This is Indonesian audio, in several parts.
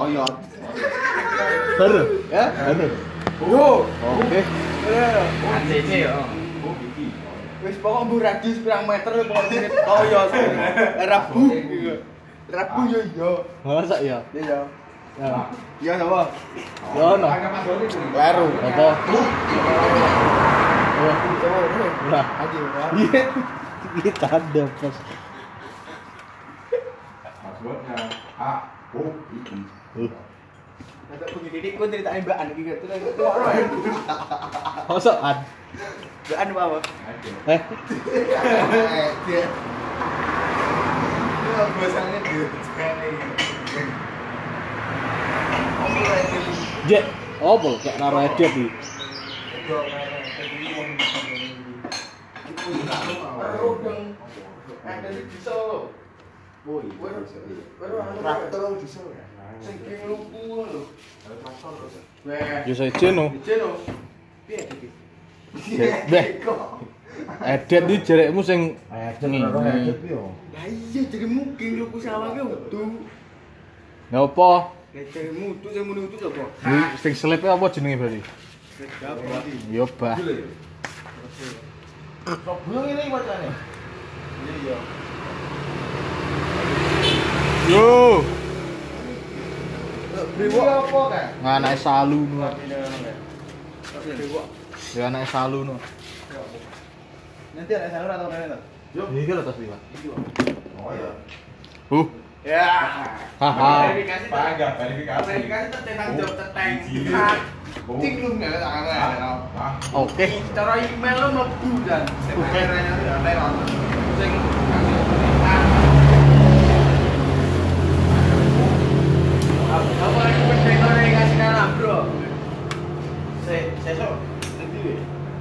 Koyot. Baru? Ya? Baru. Yo. Oke. ACC yo. Wis pokok mbok radius pirang meter pokok sini koyot. Rabu. Rabu yo iya. Masa ya? Iya. Ya. Iya apa? Ya ono. Baru. Apa? Oh, lah. Aji. Iya. Kita ada pas. Passwordnya A O I. Ada pendidik ku ceritain Mbak An iki gitu. Masakan. Mbak An apa? Eh, Dia. Yo bosannya dia. Jek, opo kayak naro edit iki? Ada di Solo. Boy, traktor di Solo. Sing ki lupu lho. Weh, Yo saja no. Jeno. Piye iki? Beh. Edit iki jerekmu sing Edit yo. Lah iya jadi mungkin lupu sawah ki utuh. Ngopo? Nek jadi mutu sing muni utuh sapa? Iki sing selipe apa jenenge berarti? Yo bah. Sok belum ini bacanya. Iya. Yo, Brewo apa kan? anake salu no. Brewok. Ya anake salu no. Nanti ada salur atau mana? Iki lho tas iki. Oh ya. Ya. Haha. Verifikasi. Pagak verifikasi. Verifikasi tercetak job cetek. Cing lu enggak tangan. Oke. Cara email lo mlebu dan sebenarnya udah lewat. Sing apa yang penting kasih nama bro? Sesok nanti deh.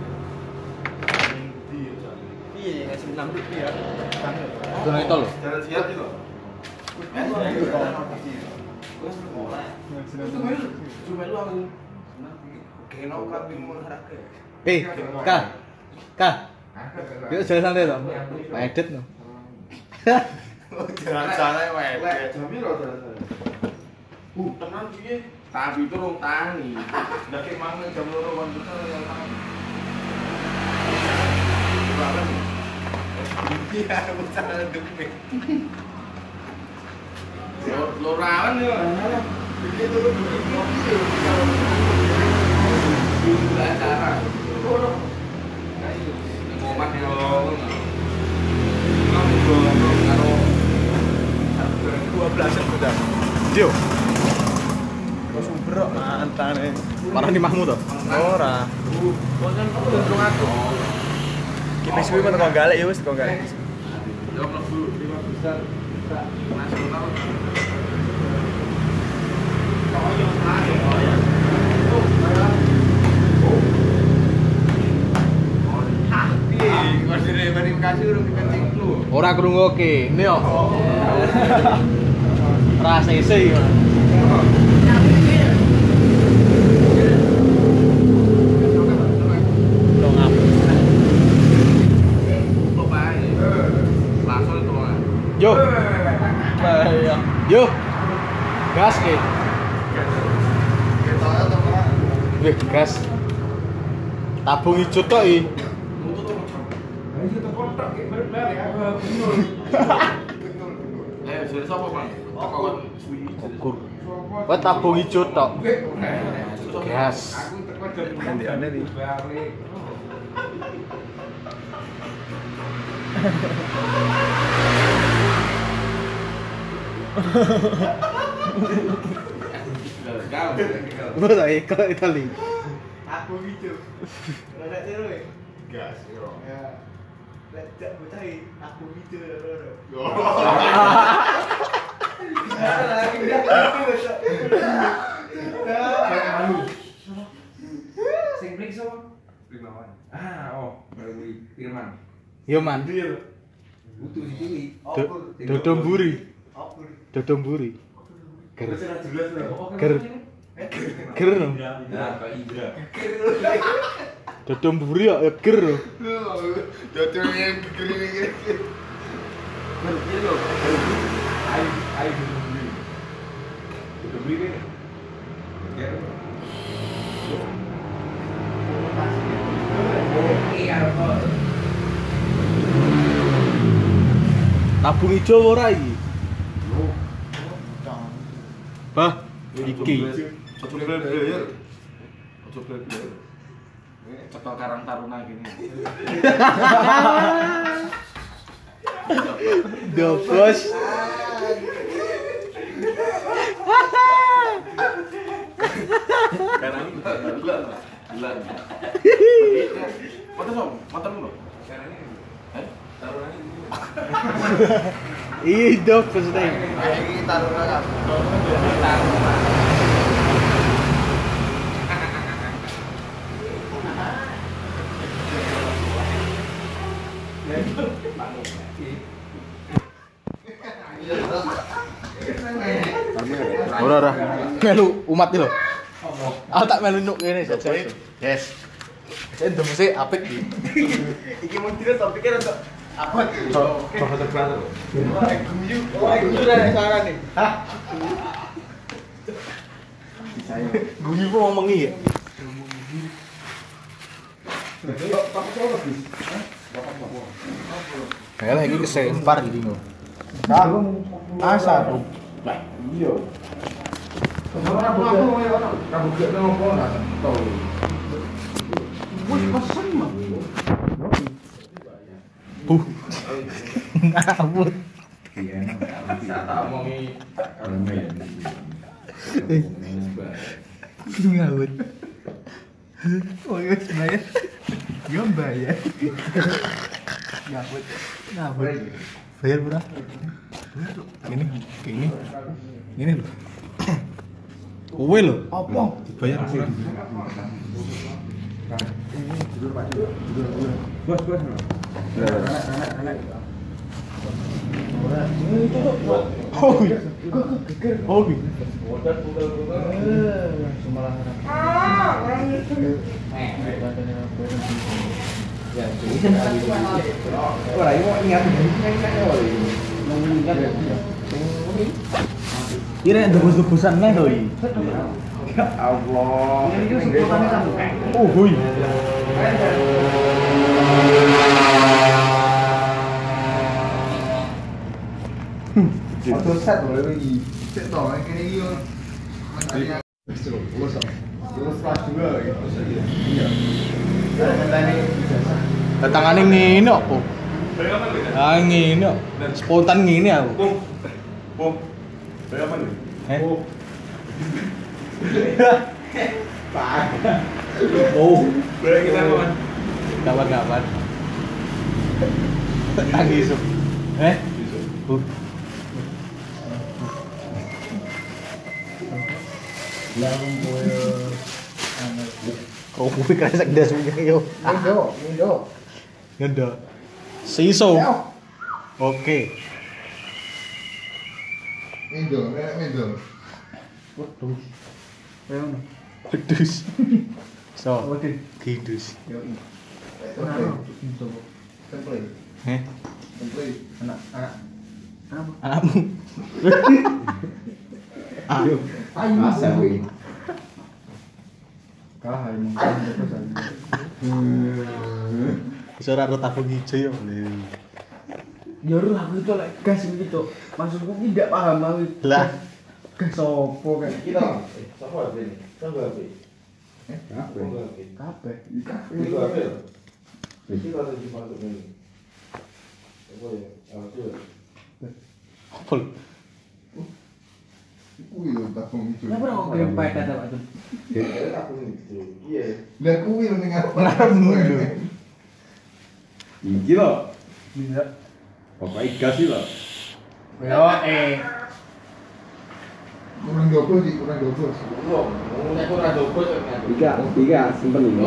Iya ngasih 6 rupiah. Dono itu lho. Jalan siap juga. Cuma lu aku. Kena kan bingung harga. Kak. Yuk jalan santai to. Edit no. Jalan santai wae. Jami lo jalan. Tenan piye? Tapi itu rong tangi. Ndak ki mang jam 2 kon bener yang tangan. Iya, bocah demi. Lo rawan yo. Iki dulu begitu. Gila cara. Ngomat yo. Kamu karo 12 sudah. Yo. Sumber mantane. Parah di Mahmud to? Ora. Konsen untung aku. Kita suwi men kok galek ya wis kok galek. Yo mlebu 5 besar nasional. Oh yo ae. Oh ya. Verifikasi urung dikencing lu. Ora krungoke. Ini yo. Rasese iki. Yo. Yo. Gas ke. Wih, gas. Tabung hijau tok iki. Ayo, sudah sapa, Bang? Toko suwi. Ukur. Wah, tabung hijau tok. Gas. Gantiane nih. Gua tak ikut Itali. Aku gitu. Ada terus. Gas yo. Ya. Lek bocah aku gitu lho. Sing plik sapa? Primawan. Oh, baru Firman. Yo man. Utuh si Dewi. Dodomburi. Dodomburi. Ger. Ger. Ger. Nah, Pak Indra. Dodomburi ya ger. Dodol yang gede-gede. Ayo dulu. beli ini. Ya. Tabung ijo ora iki? Bah, iki. Ojo beli-beli. Ojo beli-beli. Cekel Karang Taruna gini. Dobos. Sekarang gila. Motor lu. Sekarang ini. Taruhannya ini. Ih, dobos teh. Iki taruna kan. Ora. Melu umat iki lho. Ah tak melu nuk kene saja. Yes. Saya ndemese apik iki. Iki mau dina topiknya untuk apa? Coba terbaru. Guyu ra sarane. Hah? Guyu kok ngomongi ya? Kayak lagi kesempar gitu loh. Asa aku. Iya. Rambut gak ngopo nak tahu. Wih, pesen mah. Buh. Ngawut. Tak omongi Ngawut. Oh iya bayar. Yo bayar. Ngawut. Ngawut. Bayar berapa? Ini, ini. Ini loh. Kowe lho. Apa? Dibayar sih. Bos. Oh, oh, kira debus-debusan neh to iki. Ya Allah. Oh, hui. Auto set lho iki. Set to, kene iki yo. Lulus kelas 2 gitu. Iya. Datangane ngene opo? Ah ngene kok. Spontan ngene aku. Bom. Berapa nih? Pak. Oh, Berapa kita kawan? kapan-kapan. Tangis. Langsung koyo Kau kuwi kresek ndas punya yo. Indo. Ngendo. Siso. Oke. Indo. Waduh. Pedus. So. Kidus. Yo. Template. Heh. Template. Anak. Anakmu. Ayo. Masa kuwi. Kalah ini. Iso ora tabung ijo yo. Ya ora aku itu lek gas gitu. Maksudku ki ndak paham aku. Lah, Gas opo kayak Kita. Siapa ini? Siapa ini? kabeh. Itu apa ya? Kita ada di masuk ini. Apa ya? Apa? apa? Kuwi lho tabung itu. Kenapa kok kirim pedet Pak Jun? Ya, aku itu. Iya. Lah kuwi lho ning arep. Ngarepmu lho. Iki lho. Bisa. Bapak gas sih lho. Yo Kurang double sih, kurang double. Belum. Nek ora dobos kan. Tiga simpen ini.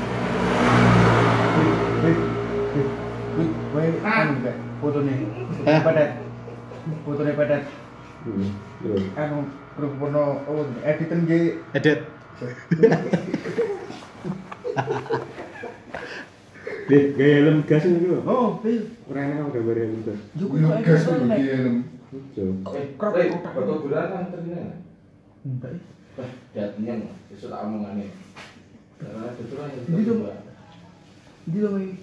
Woi, kan enggak fotone. Pedet. Fotone pedet. Terus. Anu Rupono editan J. Edit. Gaya helm gas itu lho. Oh, pil. Ora enak gambar helm gas. Yo Kuwi gas kuwi helm. Jo. Krop Batu bulan kan ternyata. Enggak. Jadinya besok tak omongane. Karena itu kan Di lo mai.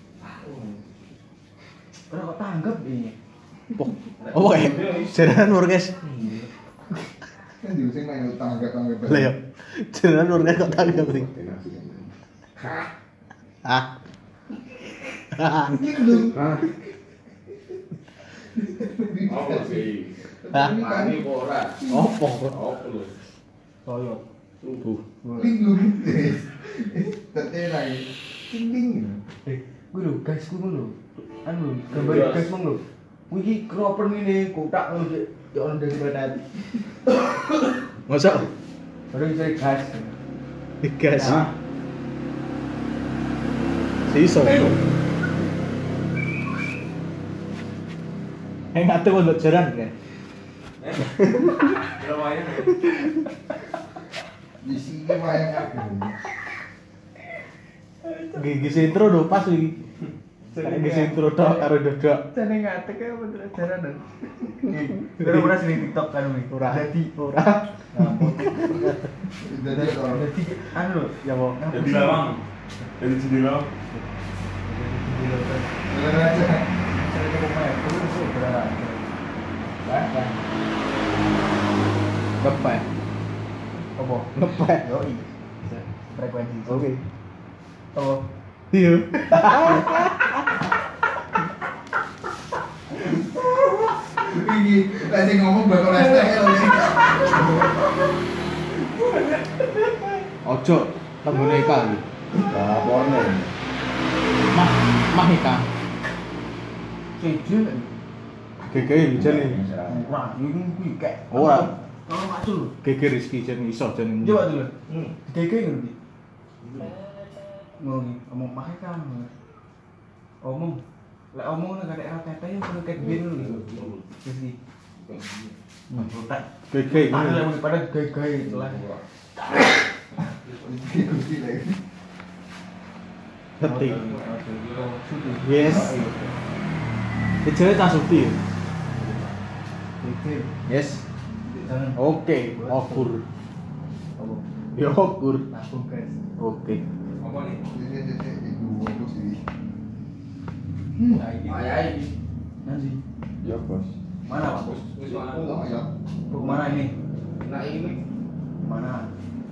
Ora kok tanggap ini. Oh, jaranan lur guys. Kan diusing main utang agak tanggap. Lah ya. Jaranan lur guys kok tanggap sih. Ah. Apa sih? Hah? Mani ora. Opo? Apa lu? Toyo. Linglung. Tete lagi. Ting. Gue lho, guys, gue lho. Anu, gambar guys mong lho. Kuwi iki kroper ngene, kotak ngono sik. Ya ono dari internet. Masa? Baru cari gas. Gas. Siso. Ngate kok jaran kan. Di sini wayang aku. Gigi intro do pas iki. Gigi intro tok karo dodok. Jane ngate kae bener jaranan. Baru ora sing TikTok kan wi. Ora. Dadi Ora. Jadi kalau dadi anu lho, Ya po. Jadi lawang. Jadi jadi lawang. bener aja. Cari ke rumah ya, terus berapa? Berapa? Ngepe. Apa? Ngepe. Yoi. Frekuensi. Oke. Oh. Iya. Iki lagi ngomong bakal STL nih. Ojo tanggone Ika iki. Laporne. Mah Ika. Seju. Gege hujan iki. Ora, iki kuwi kayak. Ora. Kalau macul. Gege Rizky jen iso jen. Coba dulu. Gege ngerti. Ngomong pakai kamu. Omong. Lek omong nang kadek ra tete yo kudu ket bin lho. Wis iki. Otak. Gege Ada ini. yang pada gay-gay lah. Iki lagi. Ngerti. Yes. Ejane tak suti. Yes. Jangan. Oke, okur. Apa? Ya okur. Langsung guys. Oke. Apa nih? Ini dua bos ini. Ayah ini. Nanti. Ya bos. Mana Pak? Oh ya. Buk mana ini? Nah ini Mana?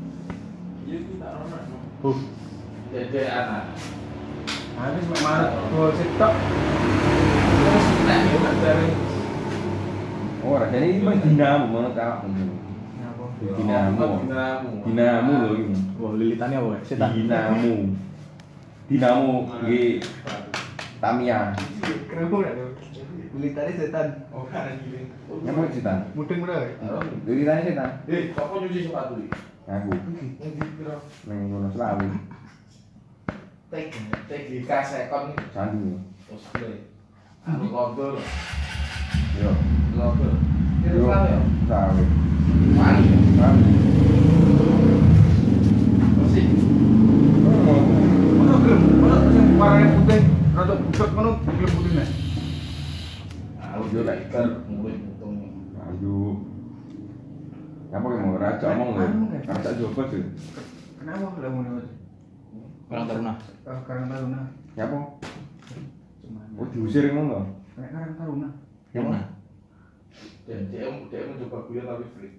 Dede anak. Habis mana? Gol sitok. Terus nek yo dari. Oh, rasanya ini mah dinamo mana tahu. Ngapa? Dinamo. Dinamo loh ini. Wah, lilitannya apa ya? Setan. Dinamo. Dinamo di Tamiya. Kenapa enggak tuh? Militannya setan. Yang mana setan? Mudeng berapa? Lilitannya setan. Kok nyuci sepatu iki? Aku. Neng ngono selawi. Tek di kasekon Sandu. terus gue. Anu kotor. Yo. Kotor. Yo. Selawi. Mari. Selawi. Bersih. Mana gelem? Mana sing warnanya putih? Rada budak mana gelem putihnya? Aku yo lek ikan mulut untungnya. Ayo. Apa yang mau raja omong lho. Raja coba sih. Kenapa gelem ngono? Orang Taruna. Karang Taruna. Apa? Cuma. Oh diusir ngono. Nek Karang Taruna. Yang mana? dia mencoba guyon tapi free.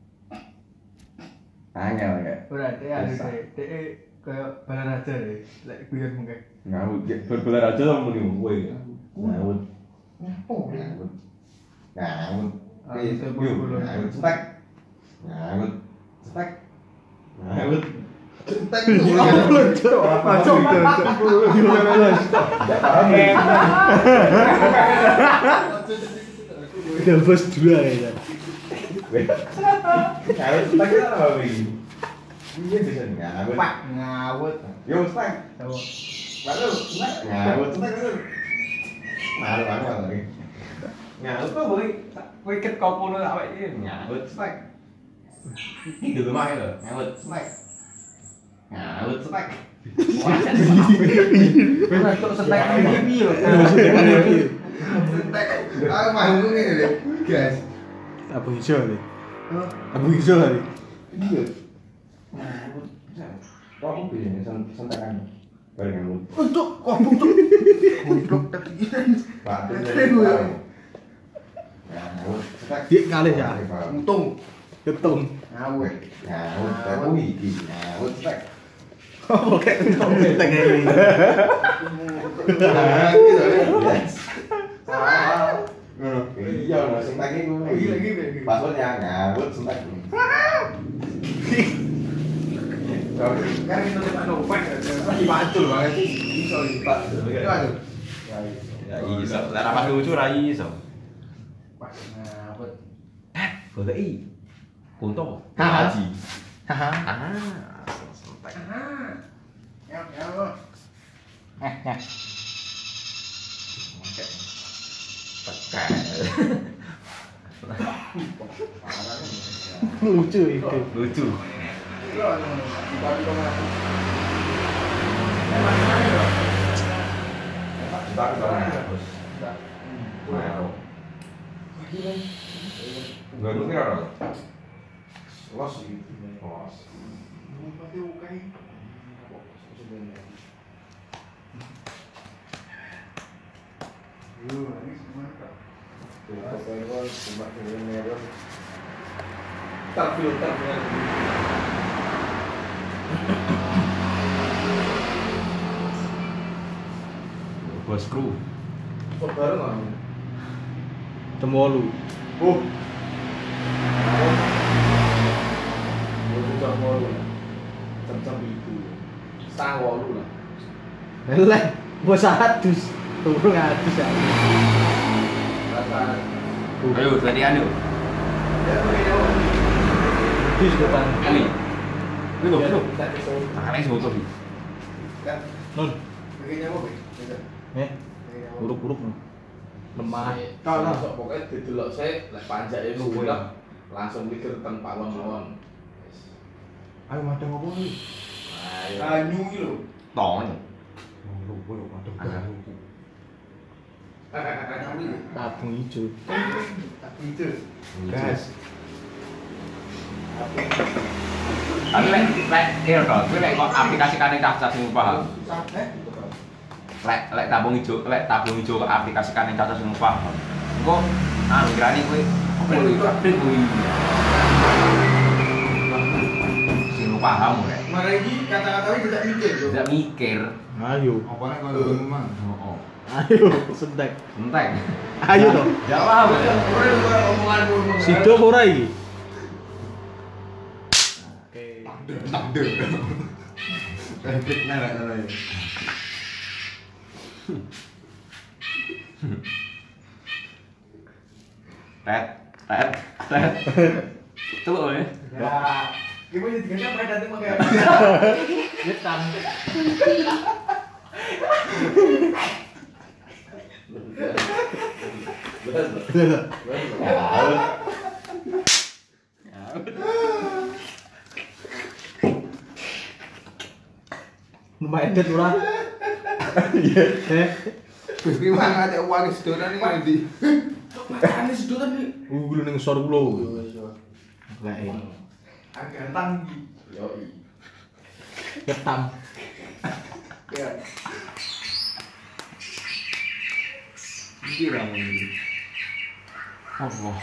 Angel ya. Berarti ada DE kayak Balaraja deh. Lek guyon mungkin. Ngawut berbelar aja sama muni kowe. Ngawut. Oh. Ngawut. Ngawut. Ah, itu bulu-bulu. Ngawut stek. Ngawut stek. Ngawut. Entek Udah bos dua ya. Ngawut stek apa iki? Iya bisa ngawut. Pak ngawut. Yo stek. Tahu. Baru stek. Ngawut stek. Malu lagi. Ngawut tuh boleh. Wiket kopono awake iki. Ngawut stek. Ini dulu mah lho, ngawut stek. Ngawut stek. Wis tok setek iki piye lho. Entek. Ah manggung ini deh, guys. Apa hijau nih? Abu Izo kali. Iya. Kok aku biasanya santakan bareng kamu. Untuk kok untuk goblok tadi. Batu. Dik kali ya. Untung. Ketung. Ngawur. Ngawur. Aku iki. Ngawur tek. Oh, kayak untung teng ini. Iya, langsung tek iku. Passwordnya ngawur sentek. Kan itu Pak Novak. Lagi macul banget sih. Iso lipat. Ya iso. Lah rapat lucu ra iso. Pak ngabut. Goleki. Kunto. Haha. Haji. Haha. Santai. Ya. Ya. Tekan. Lucu itu. Lucu. Enggak lu kira apa? Los gitu. Los. Bos kru. Cemolu. Eleh, bos 100. Turun 100 ya. Ayo, gantian yuk. Bis depan. Kali. Itu. Makanya sebut tuh. Nun. Buruk-buruk. Lemah. Kalau pokoknya didelok sik lek panjake luwih langsung mikir tentang Pak Won. Ayo madang apa iki? Banyu iki lho. Tong. Tabung hijau. Itu. Gas. Tapi lek kira to, kuwi lek kok aplikasi kane cacat sing paham. Lek tabung ijo ke aplikasi kane cacat sing paham. Engko anggrane kuwi apa kuwi update kuwi. Sing paham rek. Mare iki kata-kata iki tidak mikir lho. Tidak mikir. Ayo. Apane koyo ngomong. Heeh. Ayo, sentek. Entek. Ayo toh. Ya paham. Ora omongan. Sido apa ora iki? Takdir. Replik nara nara. Tet. Celuk ya. Ya. Gimana diganti apa datang pakai. Nyetan. Lumayan det ora. Iya. Wis ki mangan nek uang sedotan iki ndi? Makane sedotan iki. Gulu ning sor kulo. Lek Agantang iki. Yo i. ketam. Ya. Iki ra muni. Allah.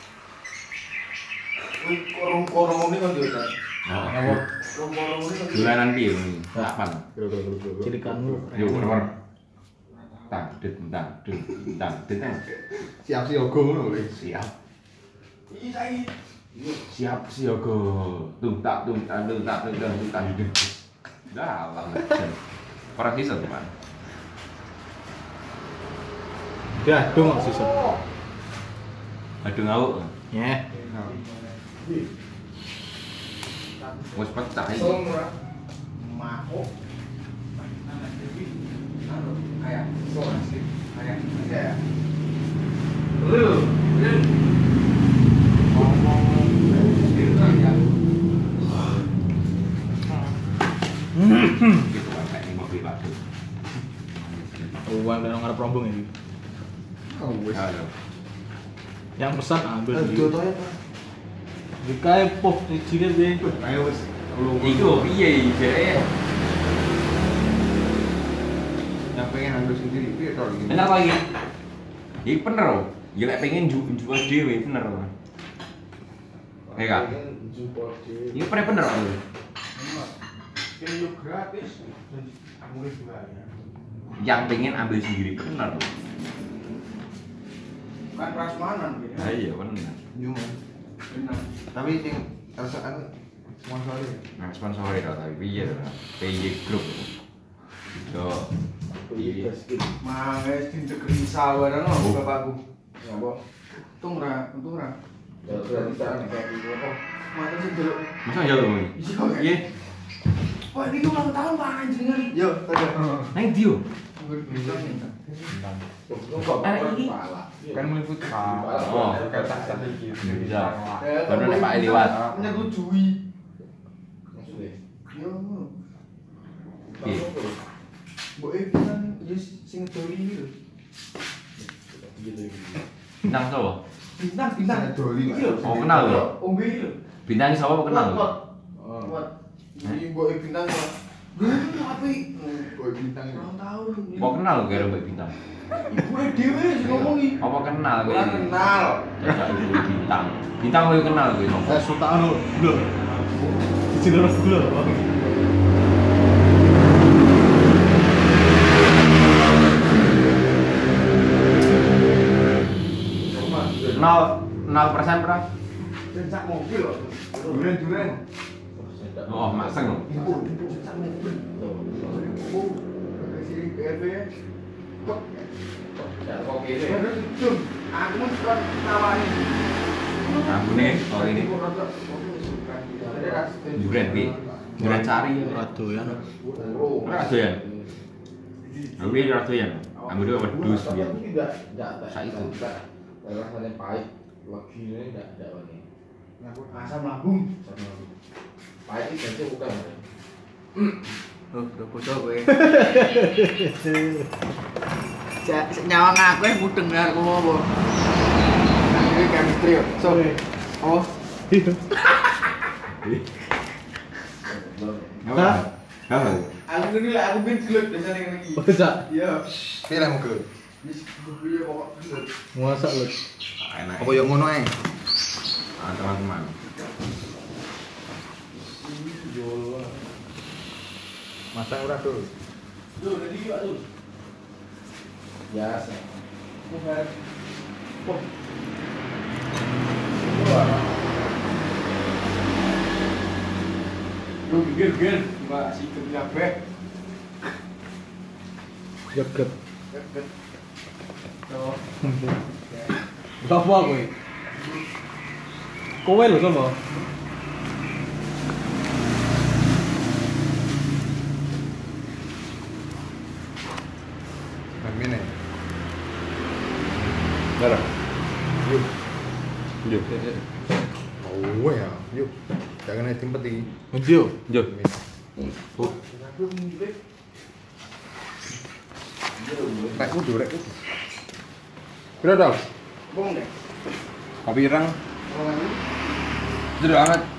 Kuwi korong-korong ini kan yo kan. Oh. Korong-korong ini kan. Dolanan piye ini? Kapan? Cirikanmu. Yo nomor. Tang dit. Siap siaga ngono lho. Siap. Iki saiki. Siap siaga. Tung tak. Dah lah. Ora bisa teman. Ya, dong sisa. Aduh ngau. Ya. Wes pecah iki. Ora. Mako. Kayak soal sih. Kayak ya. Gitu kan kayak mobil batu. Uang dan ngarep rombong ini. Oh wis. Halo. Yang pesan ambil Aduh dulu. to ya, Pak. Dikae poh siji piye? Ayo wis. Iku piye jere? Yang pengen ambil sendiri piye to iki? Bener kok iki? Iki bener kok. Ya lek pengen jual dhewe bener kok. Kak. Ini bener kok. Ini yo gratis. Murah juga ya. Yang pengen ambil sendiri bener. Kan prasmanan gitu. Ah iya bener. Cuma. Benar. Tapi sing rasane sponsore. Nah sponsori tau tapi piye to? PY Group. Yo. Iya. Manges tintegri sawaran lho bapakku. Ngapa? Untung ra. Ya berarti tak kayak gitu kok. Mata sing delok. Masa ya lho. Iya. Wah, ini ulang tahun Pak jenengan. Yo, tada. Nang ndi yo? Kan meliput Oh, bisa. Baru nek Pak liwat. Nyetujui. Maksudnya? Yo. Piye? Mbok kan yes sing doli iki lho. Bintang sapa? Bintang. Doli, Pak. Iya. Oh, kenal lho. Ombe iki lho. Bintang sapa kok kenal? Kuat. Ini mbok bintang kok. Gini api. Boy bintang ini. Ulang tahun. Kok kenal karo Mbak Bintang? Ibu dhewe sing ngomongi. Apa kenal kowe? Ora kenal. Jajak ibu Bintang. Bintang kowe kenal kowe sapa? Sultan anu lho. Siji loro gula. Nol persen berapa? Sak mobil lho. Duren. Oh, maseng. Sak mobil. Oh, kasih PRB. Kok Kok kene? aku mau surat nawani. Ambune oh ini. Duren pi. Duren cari. Ora doyan. Ora doyan. Aku ini ora doyan. Ambune wedhus piye. Tidak. Saiki. Rasanya pahit. Legine tidak ini. Asam lambung. Pahit itu saja bukan. Oh, udah bocor kowe. Nyawang aku mudeng aku apa. Ini chemistry yo. So. Oh. Apa? Apa? Aku ini lah aku bin gelut biasanya ngene iki. Bisa. Iya. Pilih mau ke. Wis kuwi pokok gelut. Masak lho. Enak. Apa yang ngono ae? Ah, teman-teman. Masak ora tuh. Tuh, tadi Pak tuh. Biasa. Bukan. Oh. Lu gigir, Mbak si kabeh. Gep-gep. Oh. Apa kowe? Kowe lho sama. Mene. Darah. Yuk. Yuk. Oh ya, yuk. Jangan naik tempat ini. Ndio. Yuk. Rek kudu, rek kudu. Pira dong? Bong deh. Kopi ireng. Kalau ini Itu amat.